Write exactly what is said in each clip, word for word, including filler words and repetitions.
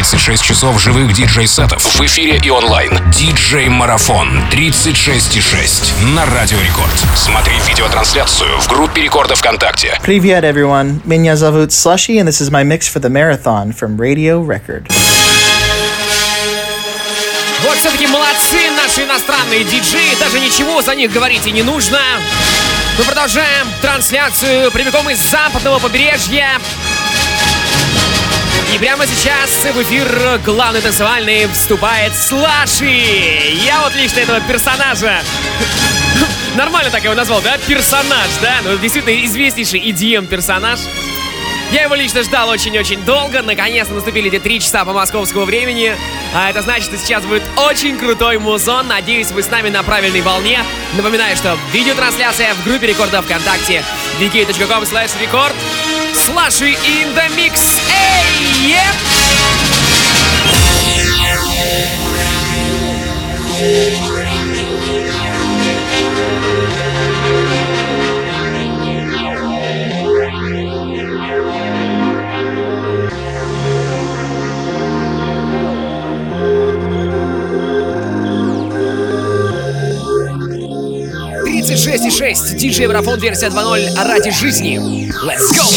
тридцать шесть часов живых диджей-сетов в эфире и онлайн. Диджей-марафон тридцать шесть и шесть на Радио Рекорд. Смотри видеотрансляцию в группе Рекорда ВКонтакте. Привет, everyone. Меня зовут Slushy, and this is my mix for the marathon from Radio Record. Вот все-таки молодцы наши иностранные диджеи. Даже ничего за них говорить и не нужно. Мы продолжаем трансляцию прямиком из западного побережья. И прямо сейчас в эфир главный танцевальный вступает Slushy. Я вот лично этого персонажа нормально так его назвал, да? Персонаж, да? Ну, действительно известнейший и ди эм-персонаж. Я его лично ждал очень-очень долго. Наконец-то наступили эти три часа по московскому времени. А это значит, что сейчас будет очень крутой музон. Надеюсь, вы с нами на правильной волне. Напоминаю, что видеотрансляция в группе Рекорда ВКонтакте ви кей точка ком слэш рекорд. Slushy in the mix. Эй, еп! тридцать шесть и шесть. Диджей-марафон версия два ноль ради жизни. Let's go!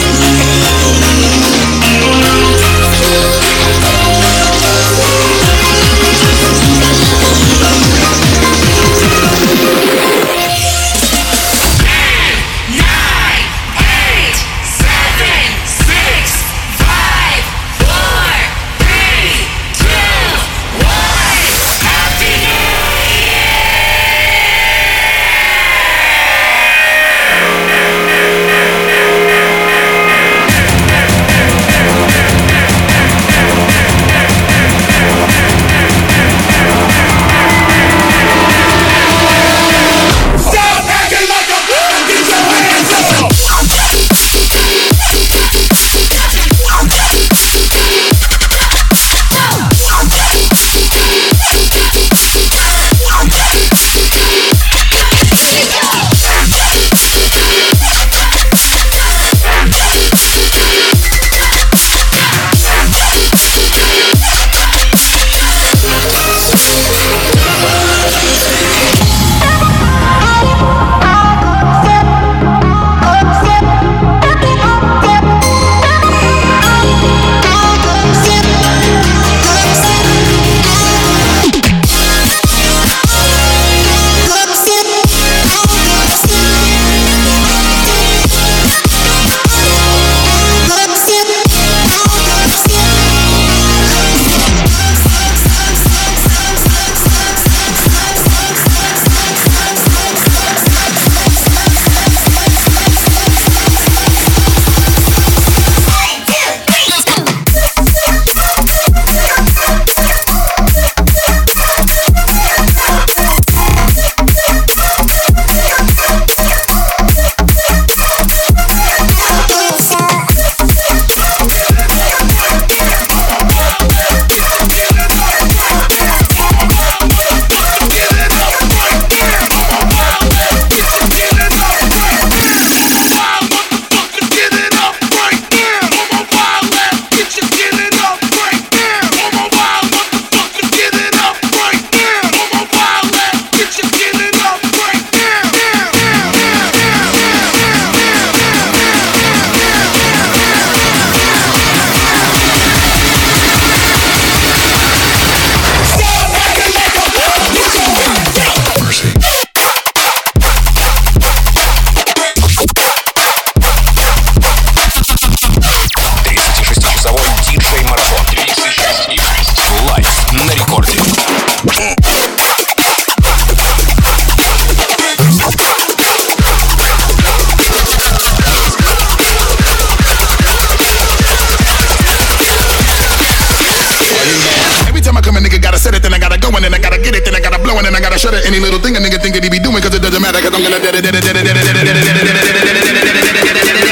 We'll be right back. flowing and I gotta shut it. Any little thing a nigga think that he be doing, cause it doesn't matter, cause I'm gonna dead it, dead it, dead it, dead it, dead it, dead it, dead it, dead it, dead it, dead it.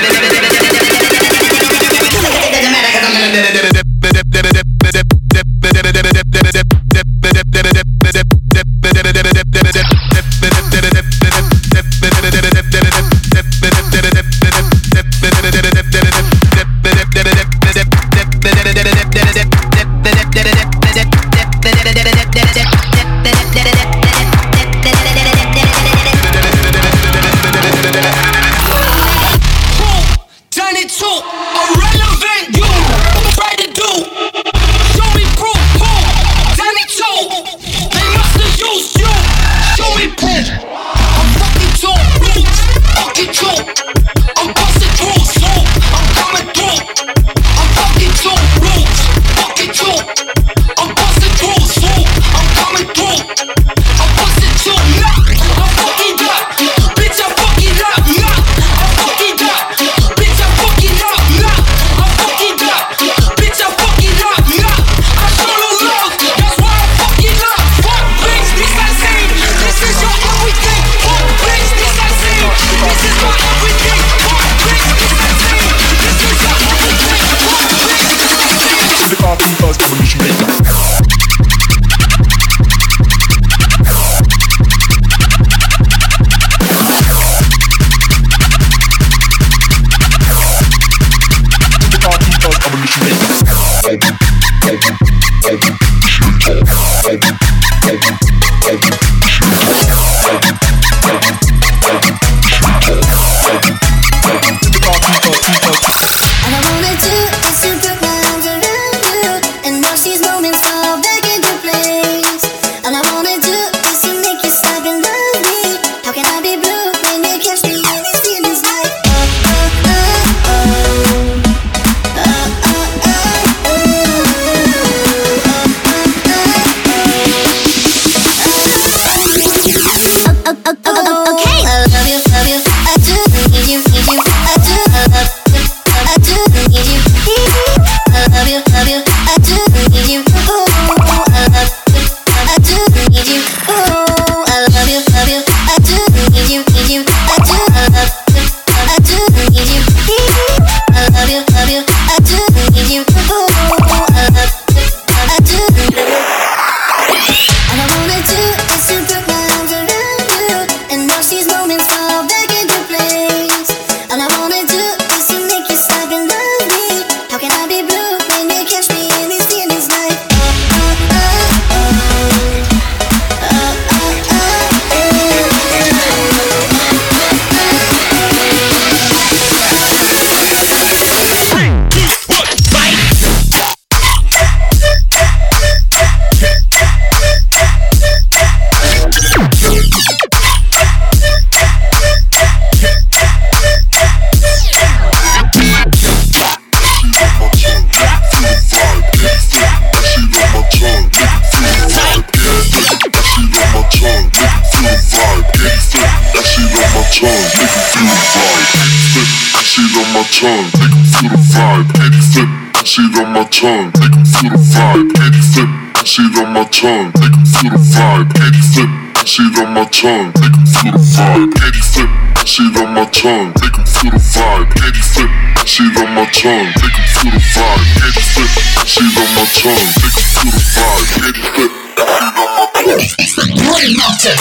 Tongue, make 'em feel the vibe. Head flip, shit on my tongue, make 'em feel the vibe. Head flip, shit on my tongue, make 'em feel the vibe. Head flip, shit on my tongue, make 'em feel the vibe. Head flip, shit on my tongue, make 'em feel the vibe. Head flip, shit on my tongue, make 'em feel the vibe. Head flip, shit on my tongue. Brain melter.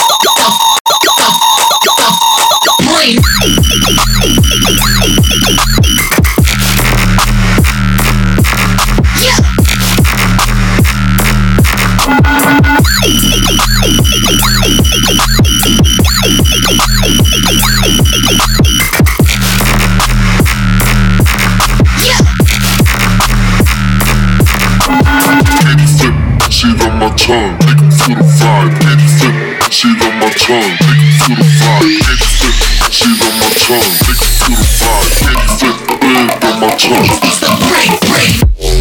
Brain. Shit on my tongue, make 'em feel the vibe. Head flip, shit on my tongue, make 'em feel the vibe. Head flip, shit on my tongue, make 'em feel the vibe. Head flip, head on my tongue. It's the brain, brain.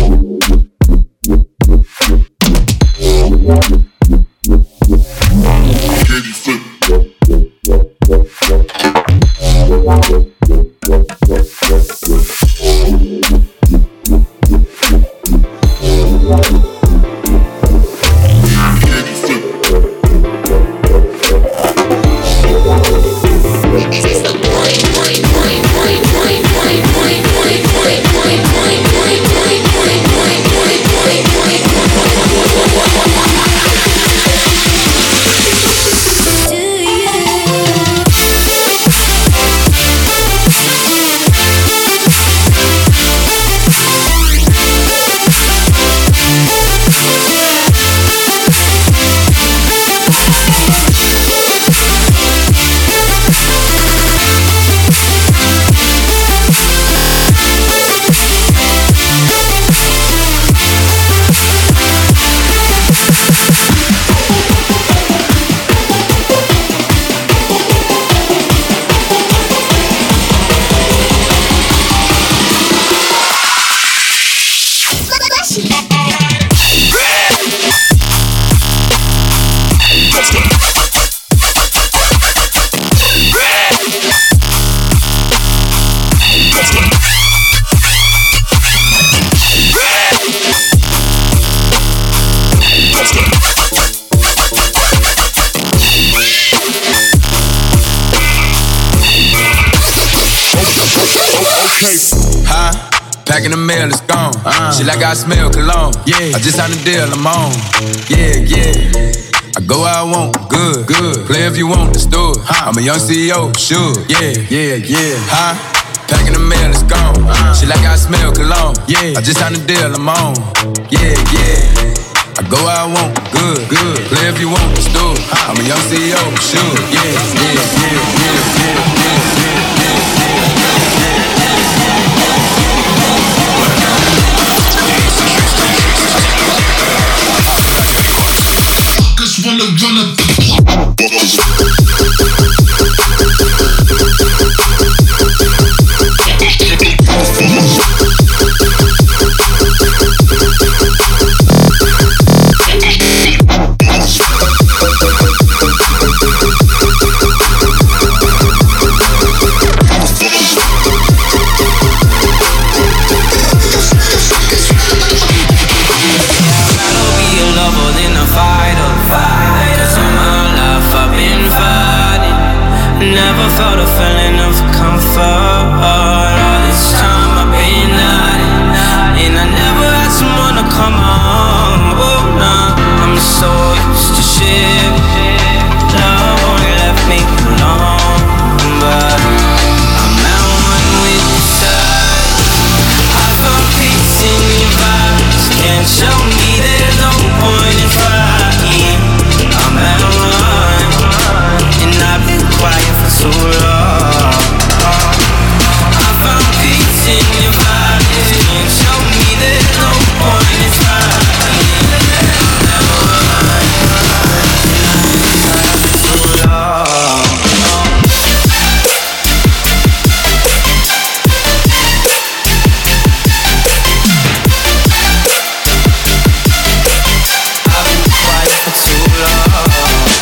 Head flip. Head flip. She like I smell cologne. Yeah, I just signed a deal, I'm on. Yeah, yeah. I go where I want, good, good. Play if you want, let's do it. I'm a young C E O, sure. Yeah, yeah, yeah. Huh? Packing the mail, it's gone. She like I smell cologne. Yeah, I just signed a deal, I'm on. Yeah, yeah. I go where I want, good, good. Play if you want, let's do it. I'm a young C E O, sure. Yeah, yeah, yeah, yeah, yeah, yeah, yeah, yeah. Just wanna run up the never felt a feeling of comfort. All this time I've been hiding, and I never had someone to come home. Oh no, I'm so used to shit. Love only left me alone, but I'm at one with the sun. I found peace in your vibes. Can't show me there's no point in trying. I'm at one, and I've been quiet for so long. I found peace in your vibes. Can't show me there's no point in trying. So long. I've been quiet for too long.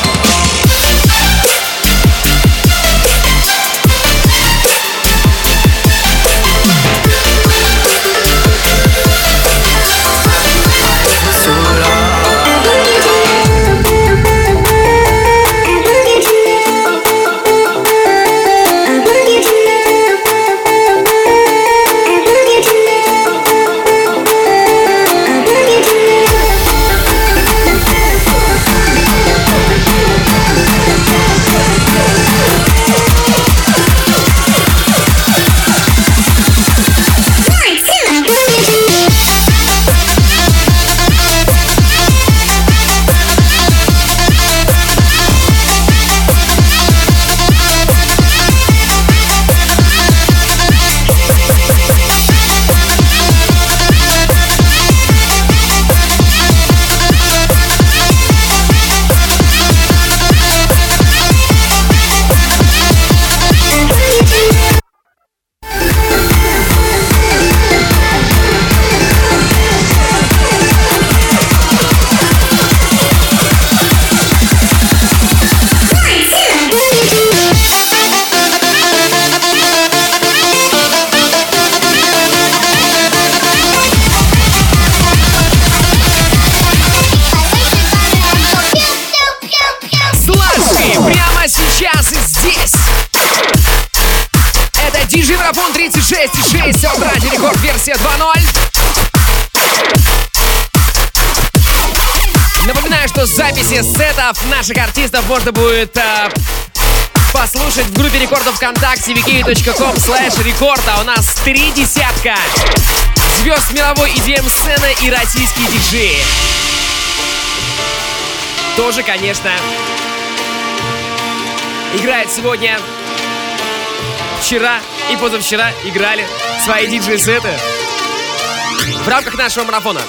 Марафон тридцать шесть и шесть от Радио Рекорд, версия два ноль. Напоминаю, что записи сетов наших артистов можно будет э, послушать в группе рекордов ВКонтакте ви кей точка ком слэш рекорд. А у нас три десятка звезд мировой и ди эм-сцены и российские диджеи. Тоже, конечно, играет сегодня. Вчера и позавчера играли свои диджей-сеты в рамках нашего марафона.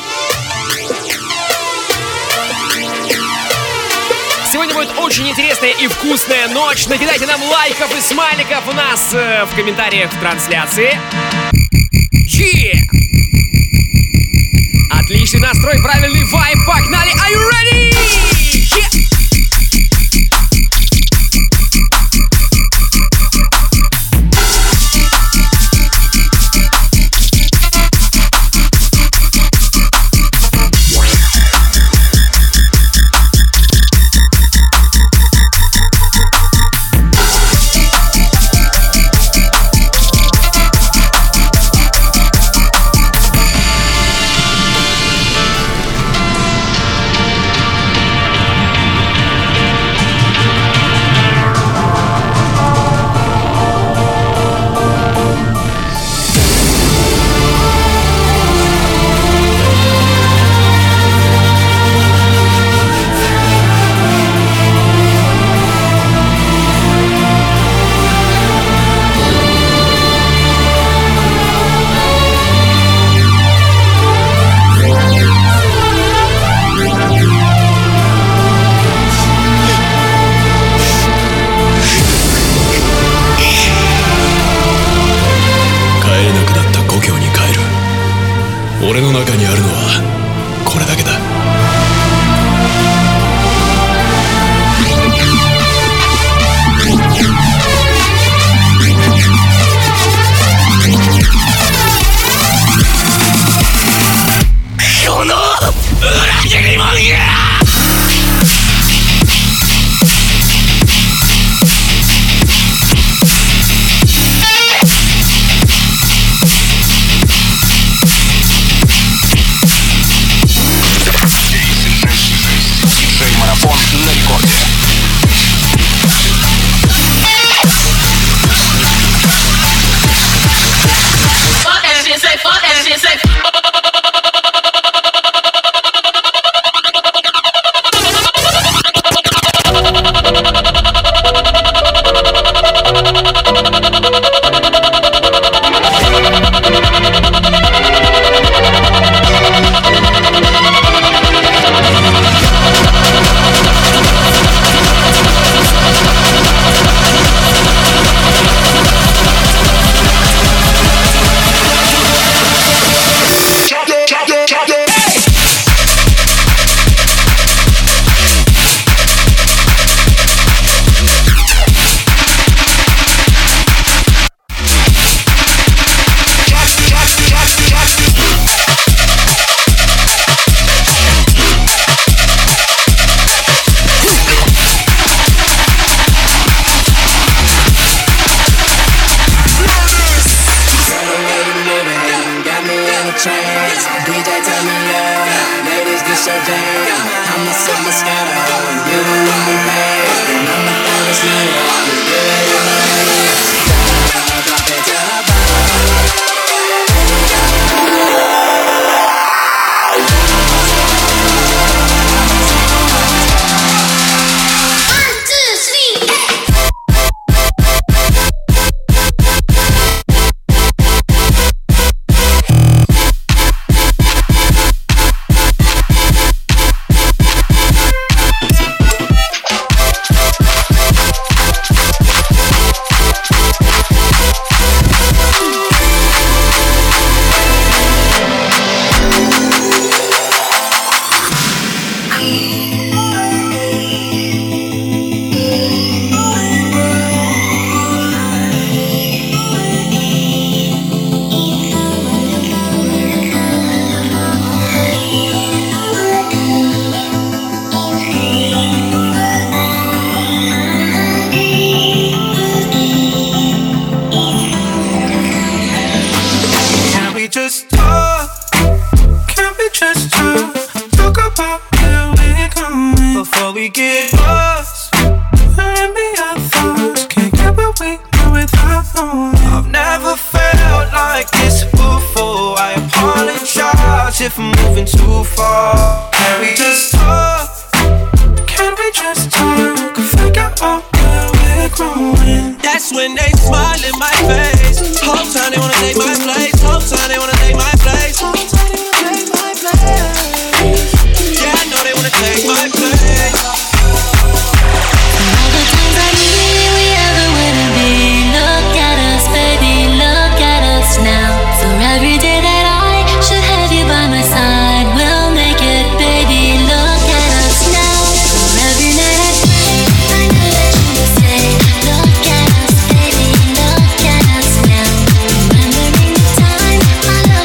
Сегодня будет очень интересная и вкусная ночь. Накидайте нам лайков и смайликов у нас э, в комментариях в трансляции. Yeah! Отличный настрой, правильный вайб. Погнали! Are you ready? Yeah! 俺の中にあるのはこれだけだ。この裏切り者が Марафон на рекорде. Fuck that shit, say fuck that shit, say I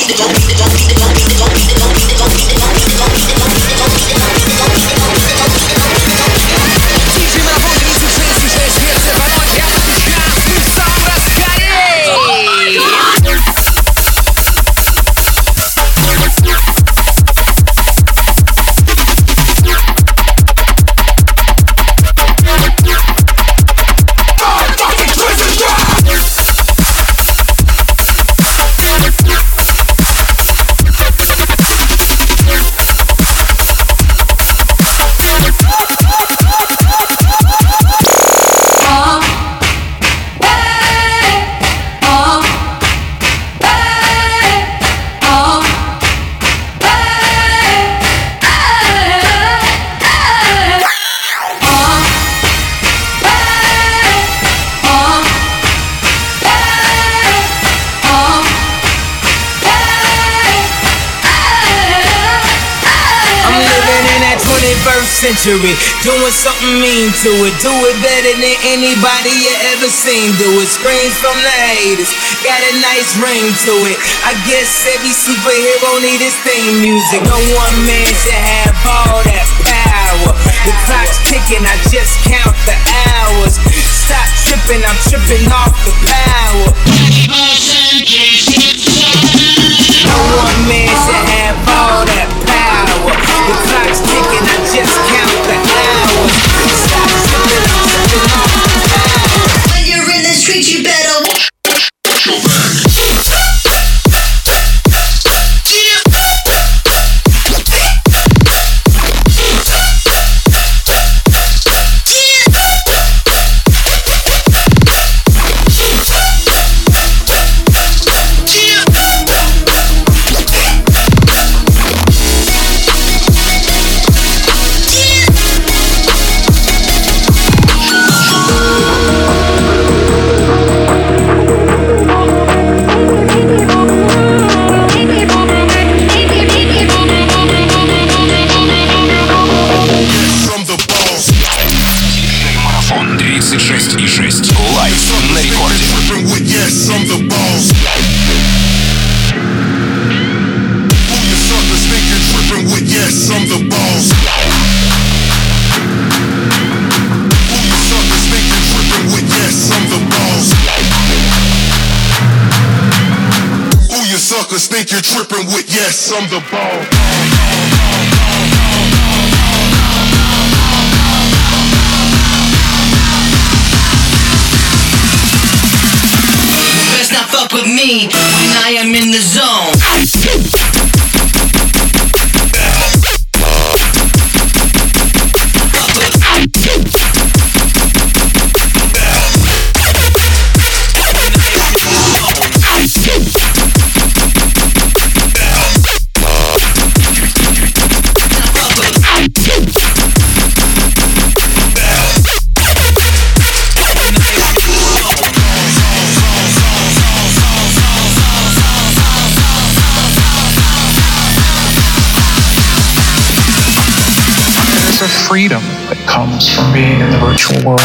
Century, doing something mean to it. Do it better than anybody you ever seen. Do it. Screams from the haters, got a nice ring to it. I guess every superhero need his theme music. No one man should have all that power. The clock's ticking, I just count the hours. Stop tripping, I'm tripping off the power. No one man should have all that power. The clock's ticking, I just count the hours. Stop tripping, I'm tripping off the power. When you're in the street, you better watch your back. Think you're tripping with yes, I'm the ball. Best not fuck with me when I am in the zone. Freedom that comes from being in the virtual world.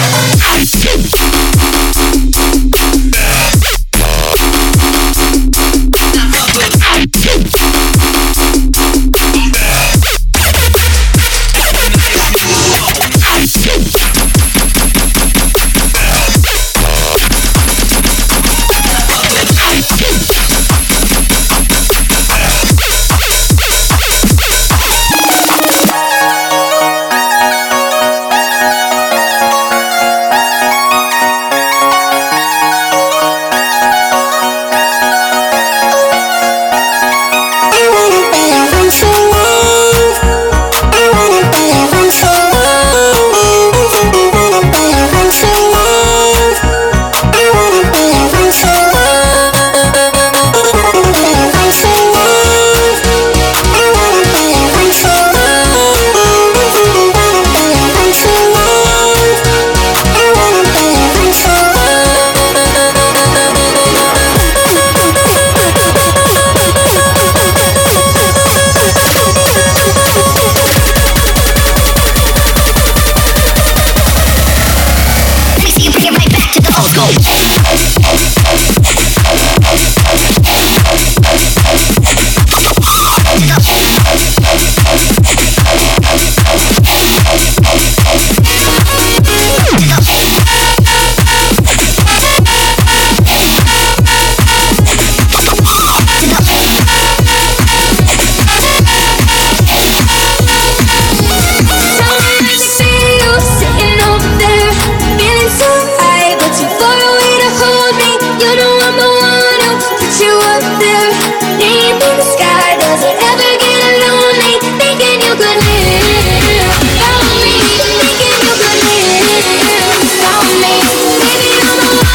up there, deep in the sky. Does it ever get lonely thinking you could live? Follow me, thinking you could live. Follow me, baby, I'm the one.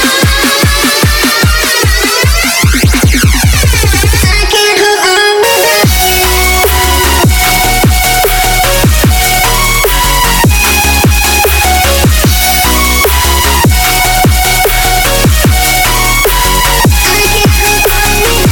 I can't hold on. I can't hold on.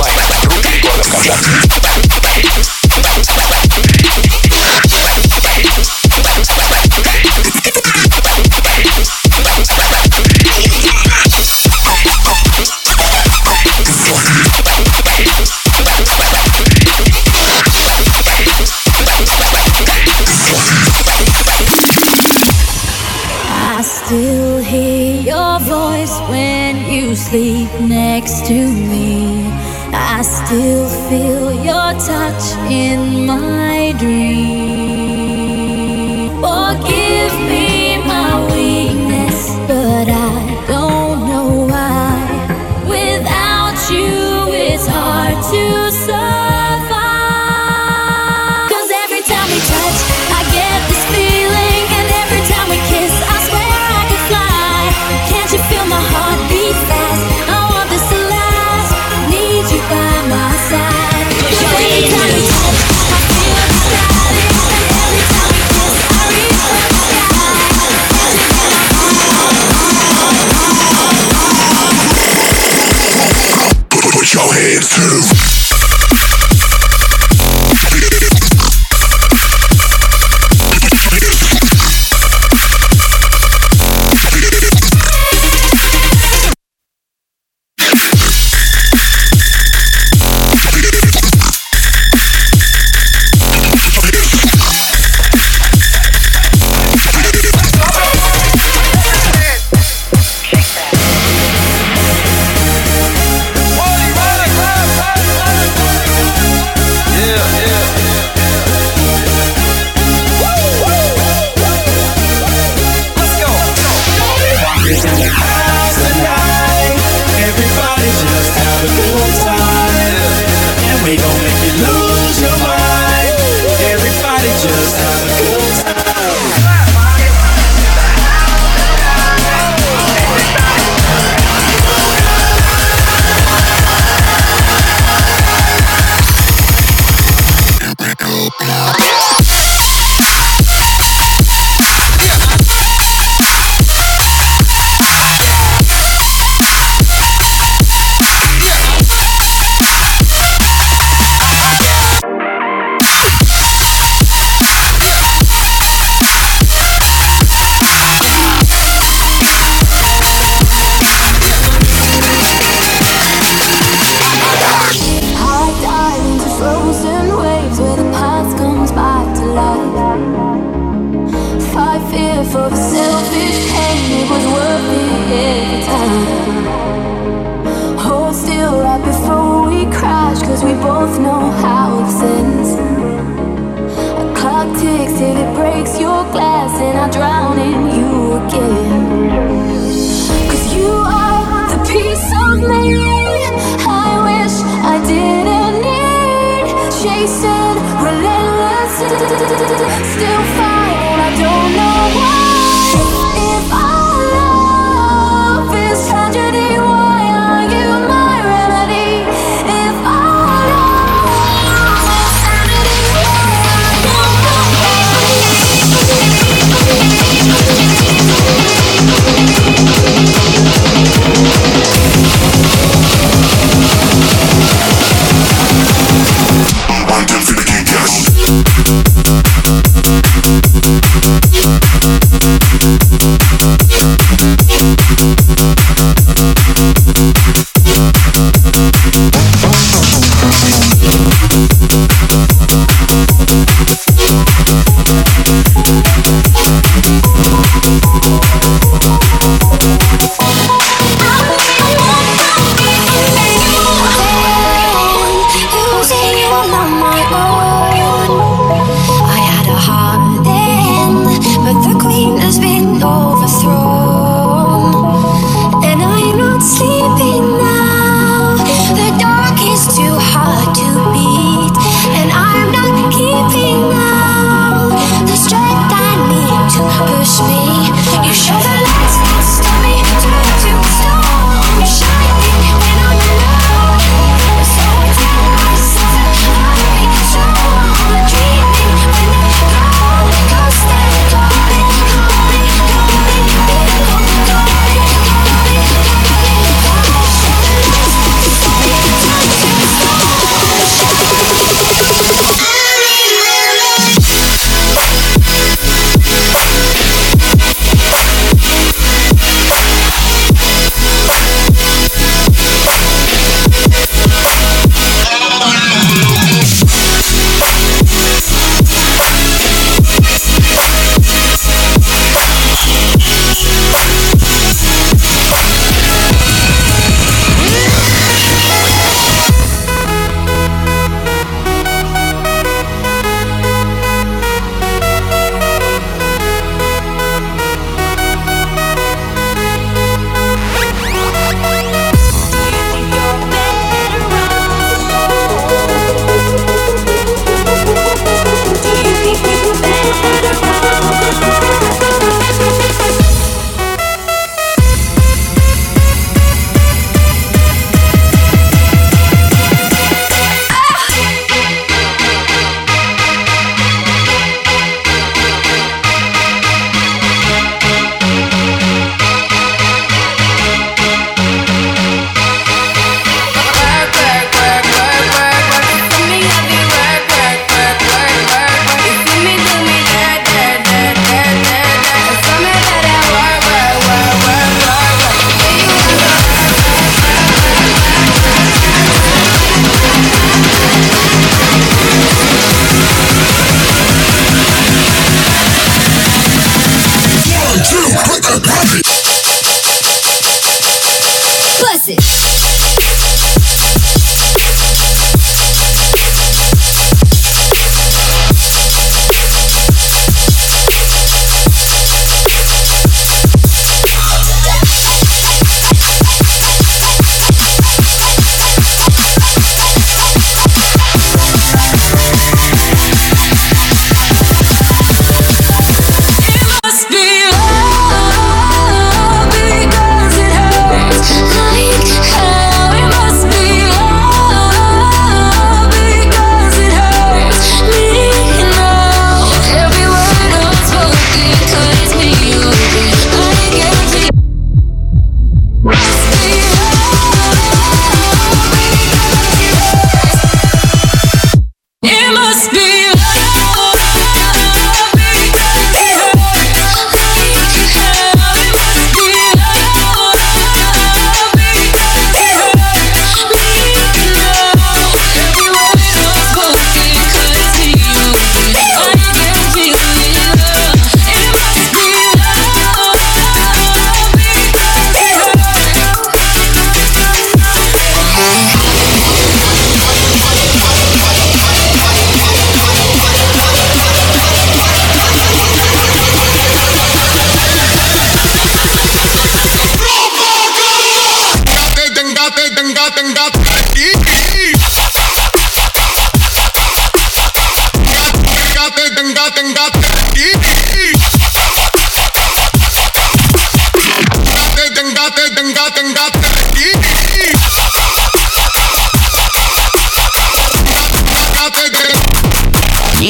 онлайн в группе рекордов ВКонтакте. I still hear your voice when you sleep next to me. I still feel your touch in my dream. Forgive me my weakness, but I don't know why. Without you, it's hard to survive. 'Cause every time we touch, I get this feeling, and every time we kiss, I swear I could fly. Can't you feel my heart beat fast? I want this to last. Need you by my side. 'Cause every time we touch, I feel excited, and every time we kiss, I reach for the sky.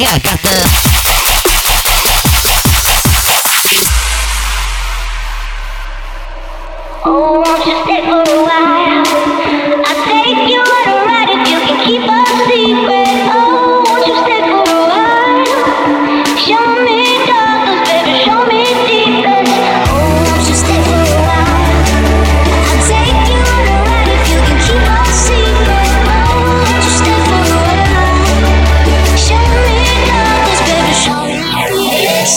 yeah, I got the. Oh, won't you stay for a while? I'll take you on a ride if you can keep a secret. Oh, won't you stay for a while? Show me darkness, baby, show me deepness. Oh, won't you stay for a while? I'll take you on a ride if you can keep a secret. Oh, won't you stay for a while? Show me darkness, baby, show me deepness.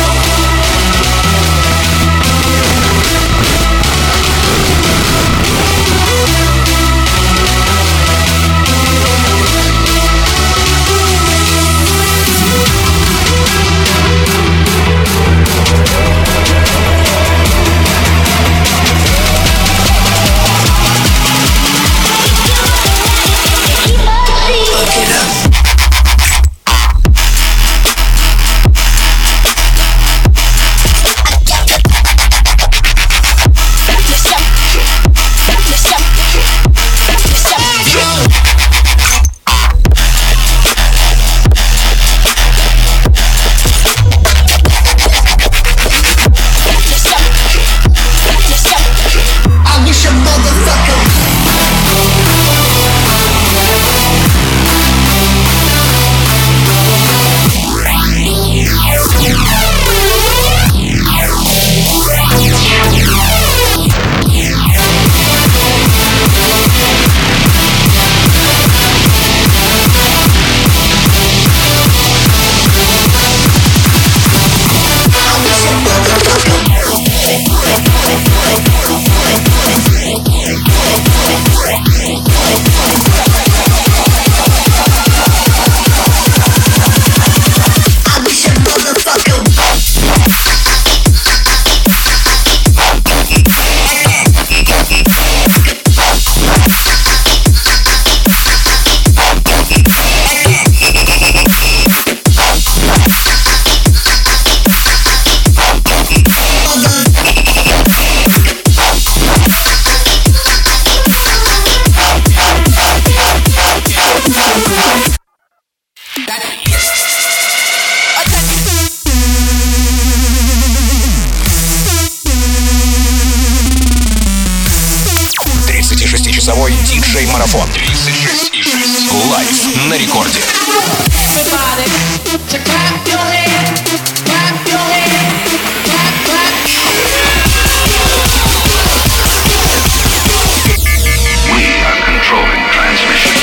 тридцатишестичасовой диджей-марафон. тридцать шесть и шесть. Лайв на рекорде. We are controlling transmission.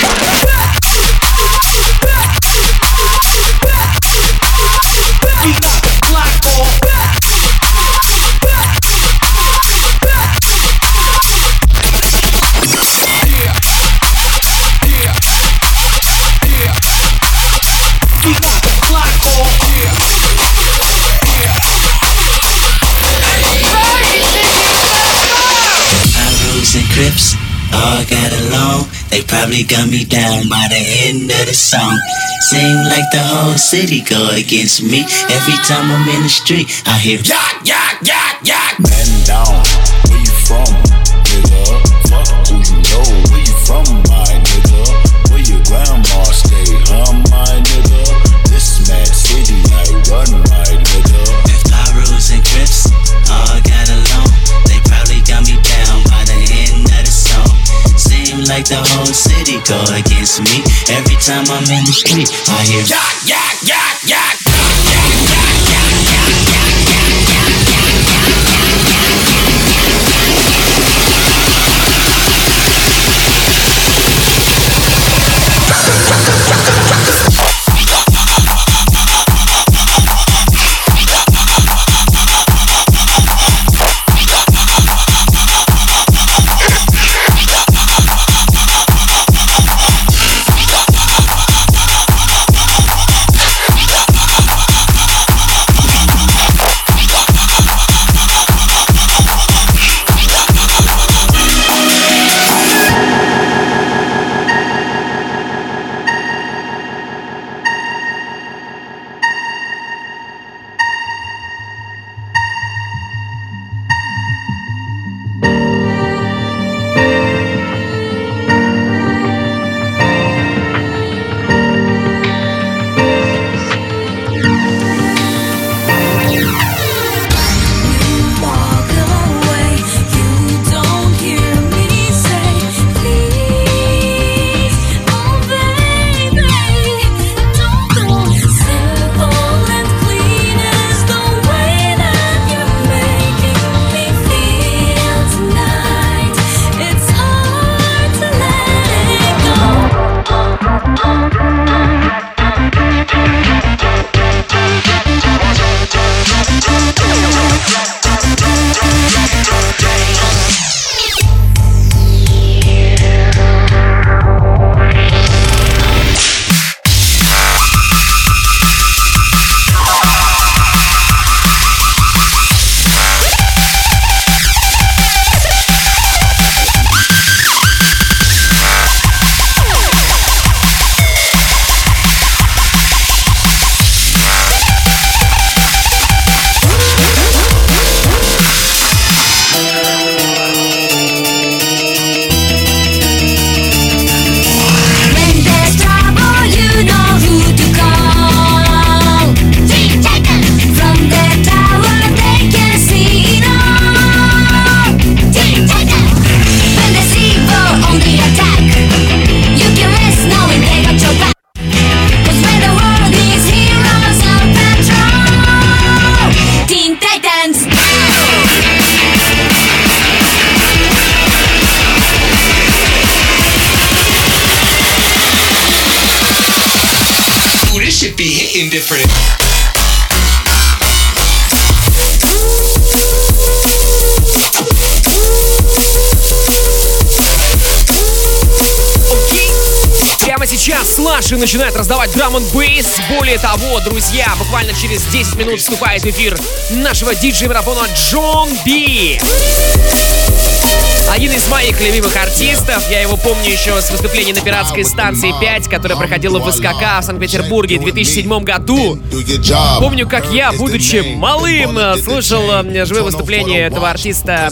Crips all got along. They probably got me down by the end of the song. Seem like the whole city go against me. Every time I'm in the street, I hear yak, yak, yak, yak. Man down, where you from, nigga? Fuck who you know, where you from, my nigga? Where your grandma stay, huh, my nigga? This mad city I run, my nigga. If Pyrus and Crips all got along, they probably got me down by the end of the song. Seem like the whole city go against me. Every time I'm in the street, I hear yak, yak, yak, yak. indifferent. Прямо сейчас Слаши начинает раздавать драм н бейс. Более того, друзья, буквально через десять минут вступает в эфир нашего диджей-марафона Джон Би. Один из моих любимых артистов. Я его помню еще с выступления на пиратской станции пять, которая проходила в СКК в Санкт-Петербурге в две тысячи седьмом году. Помню, как я, будучи малым, слушал живое выступление этого артиста,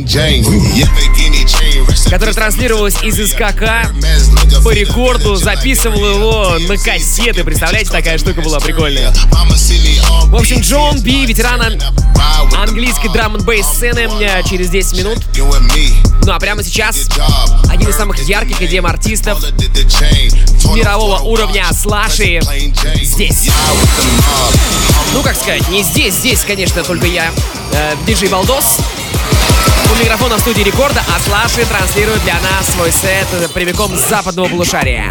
которое транслировалось из СКК по рекорду, записывал его на кассеты. Представляете, такая штука была прикольная. В общем, Джон Би, ветеран английской драм н бейс сцены, через десять минут. Ну а прямо сейчас один из самых ярких и дем-артистов мирового уровня Слаши здесь. Ну, как сказать, не здесь, здесь, конечно, только я, э, диджей Балдос. У микрофона в студии Рекорда, а Слаши транслирует для нас свой сет прямиком с западного полушария.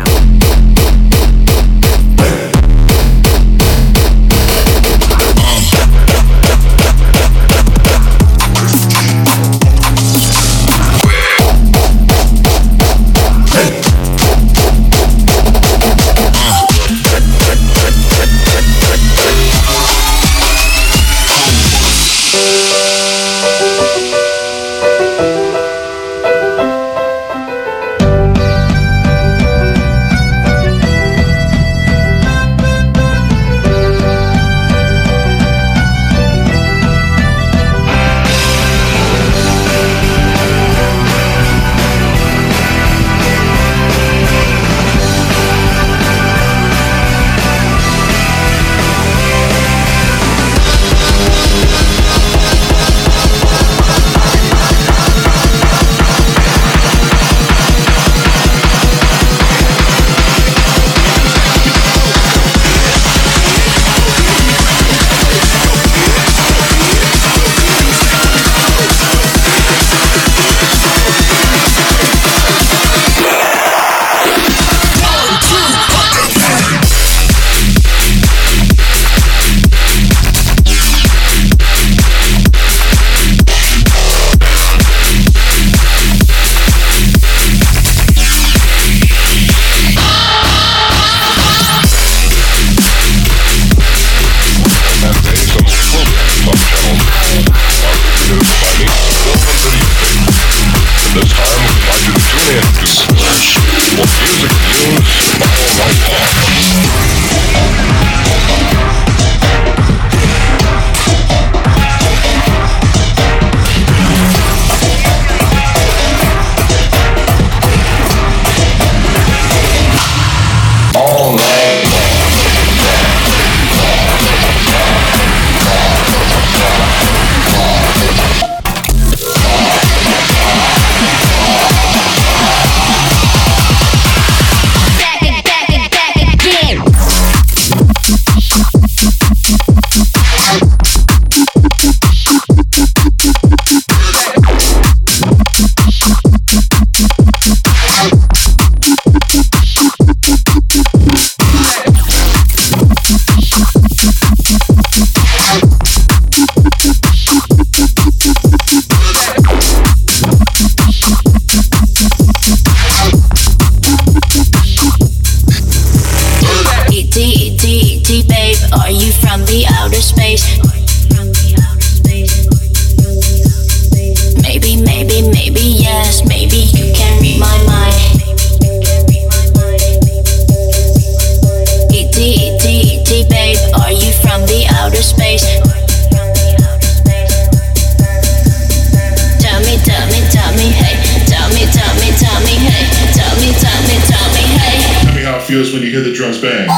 When you hear the drums bang.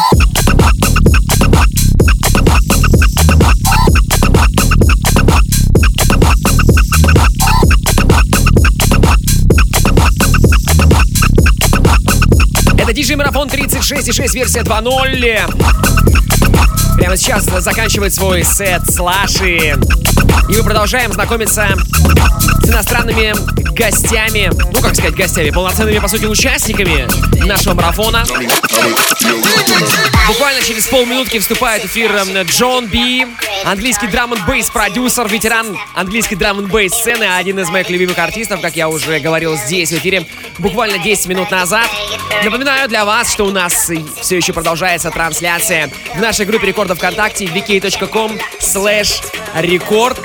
диджей Марафон тридцать шесть и шесть, версия два ноль. Прямо сейчас заканчивает свой сет Слаши. И мы продолжаем знакомиться с иностранными гостями. Ну, как сказать, гостями, полноценными, по сути, участниками нашего марафона. Буквально через полминутки вступает в эфир Джон Би, английский драм-н-бейс продюсер, ветеран английской драм-н-бейс сцены, один из моих любимых артистов, как я уже говорил здесь в эфире буквально десять минут назад. Напоминаю для вас, что у нас все еще продолжается трансляция в нашей группе рекордов ВКонтакте ви кей точка ком слэш рекорд.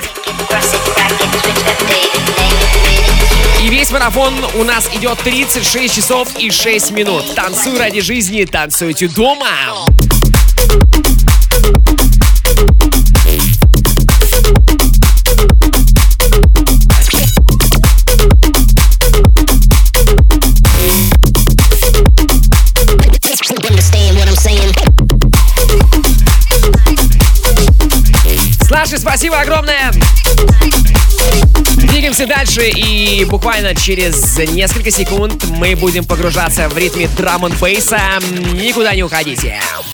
И весь марафон у нас идет тридцать шесть часов и шесть минут. Танцуй ради жизни, танцуйте дома. Слаши, спасибо огромное. Двигаемся дальше, и буквально через несколько секунд мы будем погружаться в ритме драм-н-бейса. Никуда не уходите.